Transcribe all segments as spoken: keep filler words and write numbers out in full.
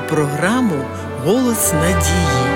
програму «Голос надії».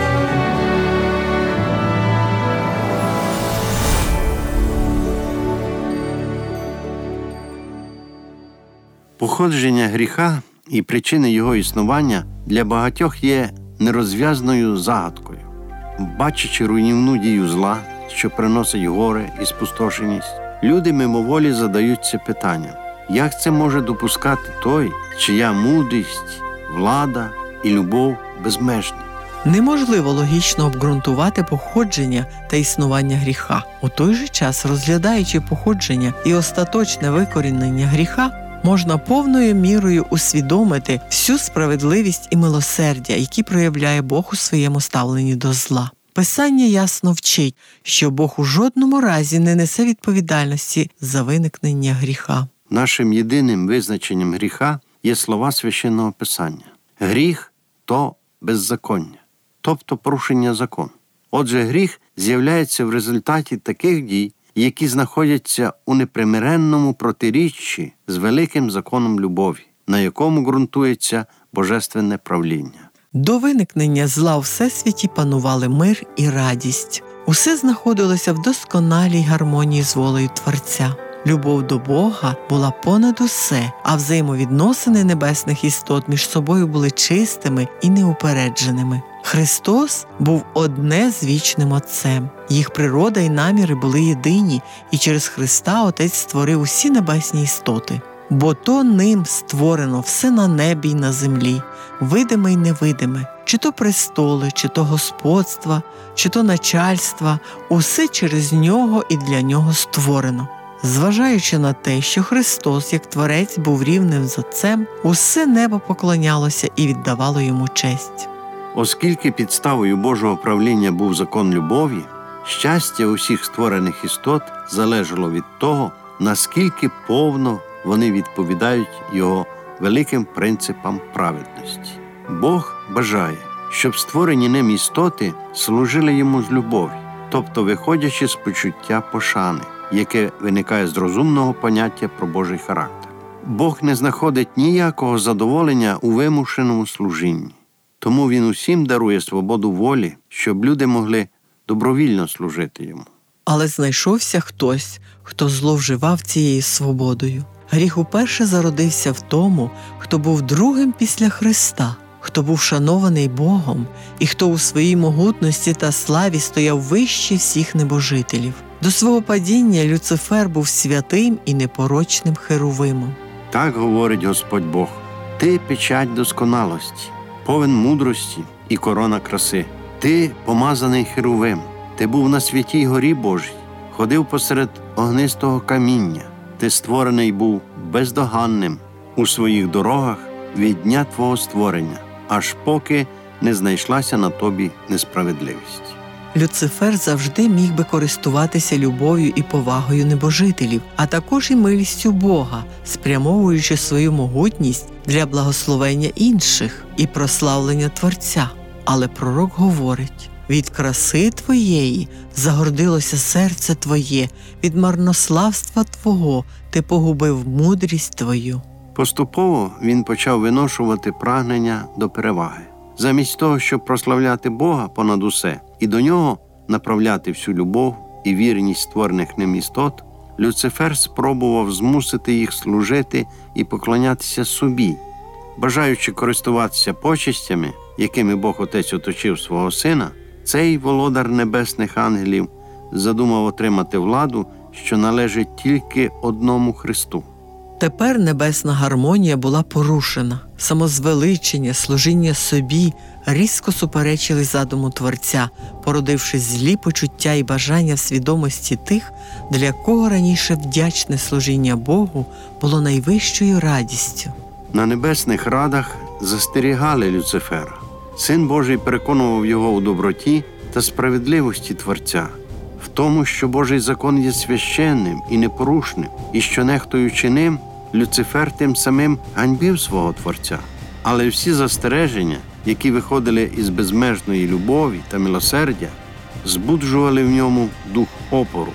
Походження гріха і причини його існування для багатьох є нерозв'язною загадкою. Бачачи руйнівну дію зла, що приносить горе і спустошеність, люди мимоволі задаються питанням: як це може допускати той, чия мудрість, влада і любов безмежні? Неможливо логічно обґрунтувати походження та існування гріха. У той же час, розглядаючи походження і остаточне викорінення гріха, можна повною мірою усвідомити всю справедливість і милосердя, які проявляє Бог у своєму ставленні до зла. Писання ясно вчить, що Бог у жодному разі не несе відповідальності за виникнення гріха. Нашим єдиним визначенням гріха є слова Священного Писання. Гріх – то беззаконня, тобто порушення закону. Отже, гріх з'являється в результаті таких дій, які знаходяться у непримиренному протиріччі з великим законом любові, на якому ґрунтується божественне правління. До виникнення зла у всесвіті панували мир і радість. Усе знаходилося в досконалій гармонії з волею Творця. Любов до Бога була понад усе, а взаємовідносини небесних істот між собою були чистими і неупередженими. Христос був одне з вічним Отцем. Їх природа і наміри були єдині, і через Христа Отець створив усі небесні істоти. Бо то ним створено все на небі й на землі, видиме й невидиме, чи то престоли, чи то господства, чи то начальства, усе через нього і для нього створено. Зважаючи на те, що Христос, як Творець, був рівним з Отцем, усе небо поклонялося і віддавало йому честь. Оскільки підставою Божого правління був закон любові, щастя усіх створених істот залежало від того, наскільки повно вони відповідають його великим принципам праведності. Бог бажає, щоб створені ним істоти служили йому з любові, тобто виходячи з почуття пошани, яке виникає з розумного поняття про Божий характер. Бог не знаходить ніякого задоволення у вимушеному служінні. Тому Він усім дарує свободу волі, щоб люди могли добровільно служити Йому. Але знайшовся хтось, хто зловживав цією свободою. Гріх уперше зародився в тому, хто був другим після Христа, хто був шанований Богом і хто у своїй могутності та славі стояв вище всіх небожителів. До свого падіння Люцифер був святим і непорочним херувимом. Так говорить Господь Бог: «Ти печать досконалості, повен мудрості і корона краси. Ти помазаний херувим, ти був на святій горі Божій, ходив посеред огнистого каміння. Ти створений був бездоганним у своїх дорогах від дня твого створення, аж поки не знайшлася на тобі несправедливість». Люцифер завжди міг би користуватися любов'ю і повагою небожителів, а також і милістю Бога, спрямовуючи свою могутність для благословення інших і прославлення Творця. Але пророк говорить: «Від краси твоєї загордилося серце твоє, від марнославства твого ти погубив мудрість твою». Поступово він почав виношувати прагнення до переваги. Замість того, щоб прославляти Бога понад усе і до Нього направляти всю любов і вірність створених ним істот, Люцифер спробував змусити їх служити і поклонятися собі. Бажаючи користуватися почестями, якими Бог Отець оточив свого Сина, цей володар небесних ангелів задумав отримати владу, що належить тільки одному Христу. Тепер небесна гармонія була порушена. Самозвеличення, служіння собі різко суперечили задуму Творця, породивши злі почуття і бажання в свідомості тих, для кого раніше вдячне служіння Богу було найвищою радістю. На небесних радах застерігали Люцифера. Син Божий переконував його у доброті та справедливості Творця, в тому, що Божий закон є священним і непорушним, і що, нехтуючи ним, Люцифер тим самим ганьбив свого Творця. Але всі застереження, які виходили із безмежної любові та милосердя, збуджували в ньому дух опору.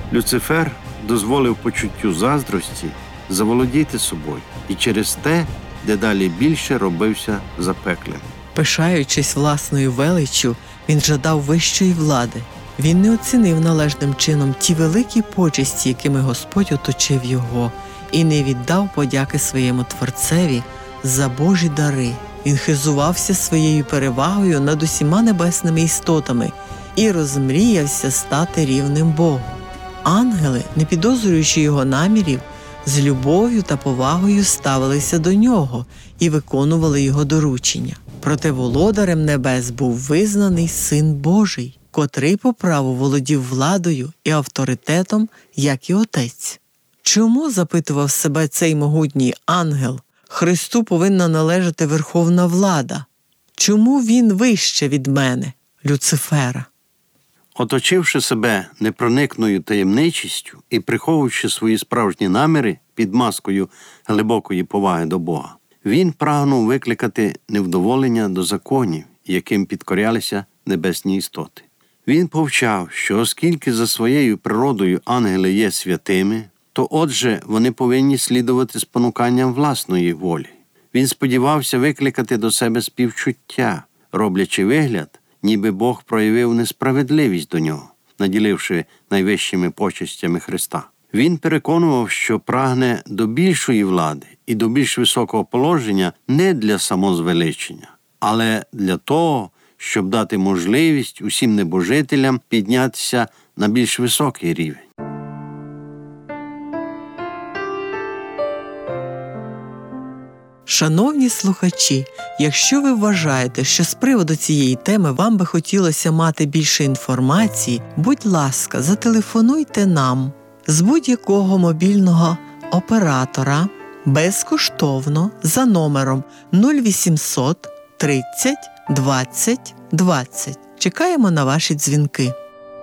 Люцифер дозволив почуттю заздрості заволодіти собою і через те дедалі більше робився запеклим. Пишаючись власною величчю, він жадав вищої влади. Він не оцінив належним чином ті великі почесті, якими Господь оточив його, і не віддав подяки своєму Творцеві за Божі дари. Він хизувався своєю перевагою над усіма небесними істотами і розмріявся стати рівним Богу. Ангели, не підозрюючи його намірів, з любов'ю та повагою ставилися до нього і виконували його доручення. Проте володарем небес був визнаний Син Божий, котрий по праву володів владою і авторитетом, як і Отець. Чому, запитував себе цей могутній ангел, Христу повинна належати верховна влада? Чому він вище від мене, Люцифера? Оточивши себе непроникною таємничістю і приховуючи свої справжні наміри під маскою глибокої поваги до Бога, він прагнув викликати невдоволення до законів, яким підкорялися небесні істоти. Він повчав, що оскільки за своєю природою ангели є святими, то отже вони повинні слідувати спонуканням власної волі. Він сподівався викликати до себе співчуття, роблячи вигляд, ніби Бог проявив несправедливість до нього, наділивши найвищими почестями Христа. Він переконував, що прагне до більшої влади і до більш високого положення не для самозвеличення, але для того, щоб дати можливість усім небожителям піднятися на більш високий рівень. Шановні слухачі, якщо ви вважаєте, що з приводу цієї теми вам би хотілося мати більше інформації, будь ласка, зателефонуйте нам з будь-якого мобільного оператора безкоштовно за номером нуль вісімсот тридцять двадцять двадцять. Чекаємо на ваші дзвінки.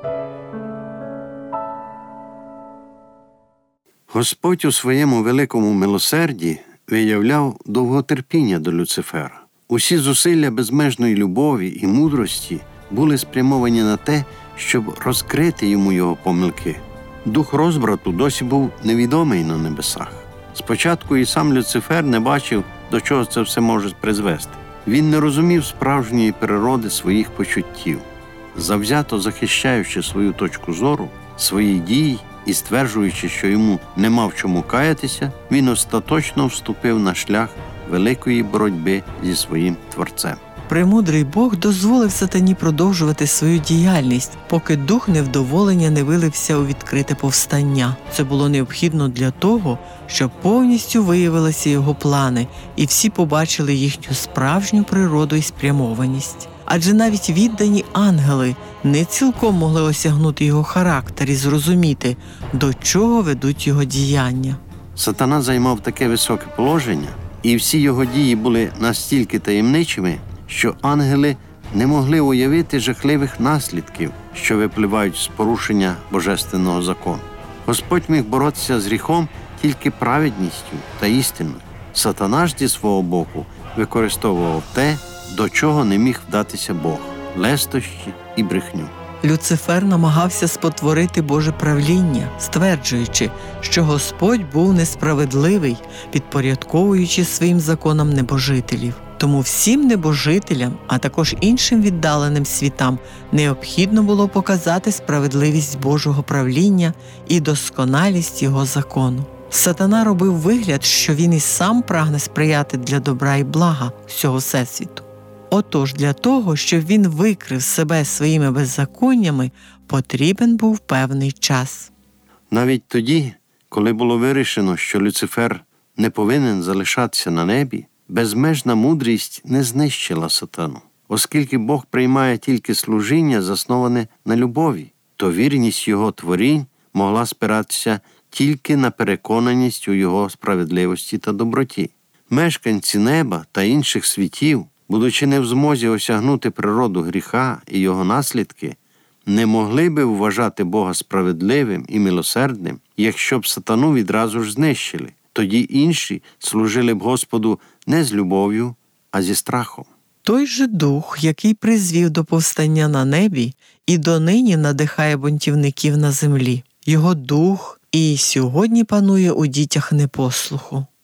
Господь у своєму великому милосерді виявляв довготерпіння до Люцифера. Усі зусилля безмежної любові і мудрості були спрямовані на те, щоб розкрити йому його помилки. Дух розбрату досі був невідомий на небесах. Спочатку і сам Люцифер не бачив, до чого це все може призвести. Він не розумів справжньої природи своїх почуттів. Завзято захищаючи свою точку зору, свої дії і стверджуючи, що йому нема в чому каятися, він остаточно вступив на шлях великої боротьби зі своїм Творцем. Премудрий Бог дозволив сатані продовжувати свою діяльність, поки дух невдоволення не вилився у відкрите повстання. Це було необхідно для того, щоб повністю виявилися його плани, і всі побачили їхню справжню природу і спрямованість. Адже навіть віддані ангели не цілком могли осягнути його характер і зрозуміти, до чого ведуть його діяння. Сатана займав таке високе положення, і всі його дії були настільки таємничими, що ангели не могли уявити жахливих наслідків, що випливають з порушення божественного закону. Господь міг боротися з гріхом тільки праведністю та істиною. Сатана ж зі свого боку використовував те, до чого не міг вдатися Бог – лестощі і брехню. Люцифер намагався спотворити Боже правління, стверджуючи, що Господь був несправедливий, підпорядковуючи своїм законам небожителів. Тому всім небожителям, а також іншим віддаленим світам необхідно було показати справедливість Божого правління і досконалість Його закону. Сатана робив вигляд, що він і сам прагне сприяти для добра і блага всього всесвіту. Отож, для того, щоб він викрив себе своїми беззаконнями, потрібен був певний час. Навіть тоді, коли було вирішено, що Люцифер не повинен залишатися на небі, безмежна мудрість не знищила сатану. Оскільки Бог приймає тільки служіння, засноване на любові, то вірність його творінь могла спиратися тільки на переконаність у його справедливості та доброті. Мешканці неба та інших світів, будучи не в змозі осягнути природу гріха і його наслідки, не могли би вважати Бога справедливим і милосердним, якщо б сатану відразу ж знищили. Тоді інші служили б Господу не з любов'ю, а зі страхом. Той же дух, який призвів до повстання на небі, і донині надихає бунтівників на землі. Його дух і сьогодні панує у дітях непослуху.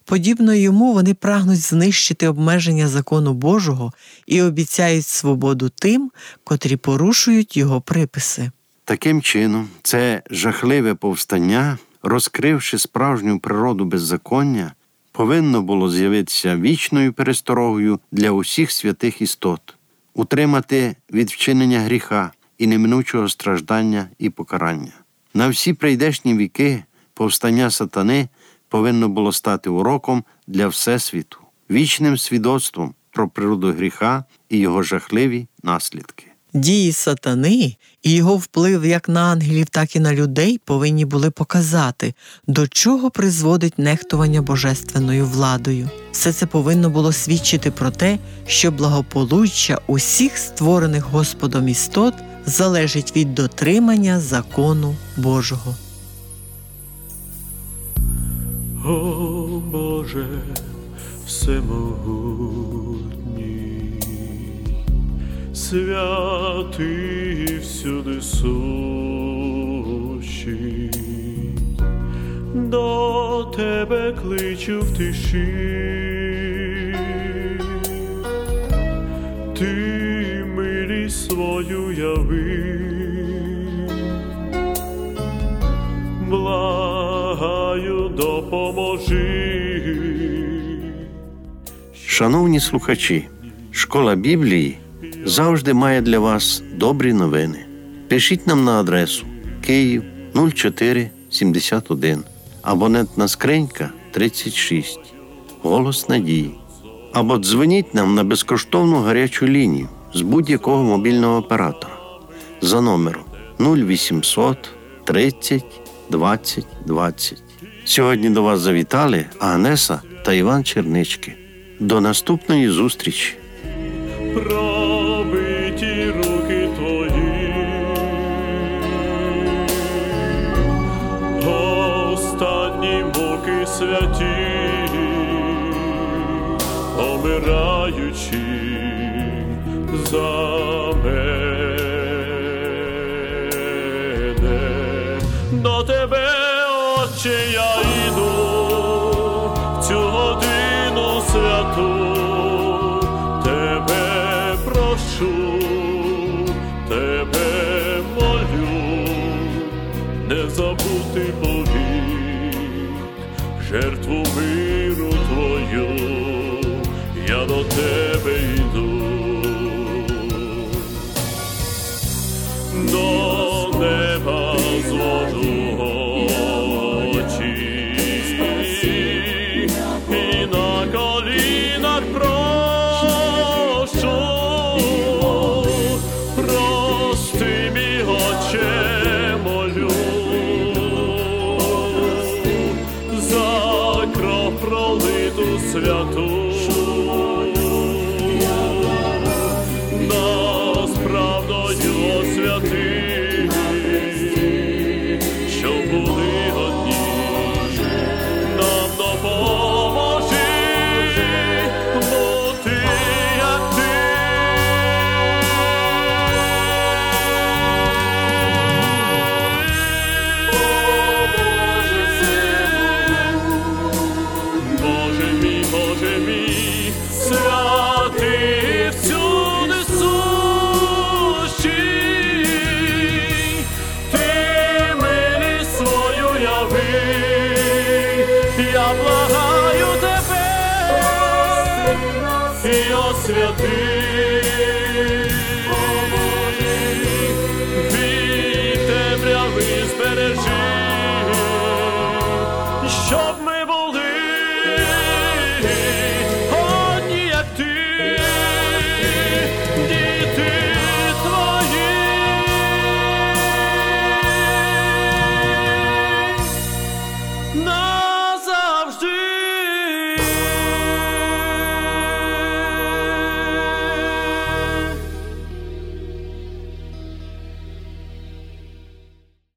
Подібно йому вони прагнуть знищити обмеження закону Божого і обіцяють свободу тим, котрі порушують його приписи. Таким чином, це жахливе повстання, розкривши справжню природу беззаконня, повинно було з'явитися вічною пересторогою для усіх святих істот, утримати від вчинення гріха і неминучого страждання і покарання. На всі прийдешні віки повстання сатани повинно було стати уроком для Всесвіту, вічним свідоцтвом про природу гріха і його жахливі наслідки. Дії сатани і його вплив як на ангелів, так і на людей повинні були показати, до чого призводить нехтування божественною владою. Все це повинно було свідчити про те, що благополуччя усіх створених Господом істот залежить від дотримання закону Божого. О Боже всемогутній, святий всюди сущий, до Тебе кличу в тиші, Ти милість свою яви, благаю, допоможи. Шановні слухачі, Школа Біблії завжди має для вас добрі новини. Пишіть нам на адресу Київ нуль чотири сімдесят один, абонентна скринька тридцять шість, Голос Надії. Або дзвоніть нам на безкоштовну гарячу лінію з будь-якого мобільного оператора за номером нуль вісімсот тридцять двадцять двадцять. Сьогодні до вас завітали Агнеса та Іван Чернички. До наступної зустрічі! Пробиті руки Твої, останні муки святі, помираючи за мене. До Тебе, Отче, я йду в цю годину святу, Тебе прошу, Тебе молю, не забути повік жертву миру Твою, я до Тебе йду. До неба звожу очі і на колінах прошу, прости, мій Отче, молю, за кров пролиту святу, нас правдою освяти, щоб були одні, нам допоможи бути як Ти. Боже мій, Боже мій, святий всюди сущий, Ти милість свою яви, я благаю Тебе і освяти. Від темряви збережи, щоб ми були одні, як Ти, діти Твої. На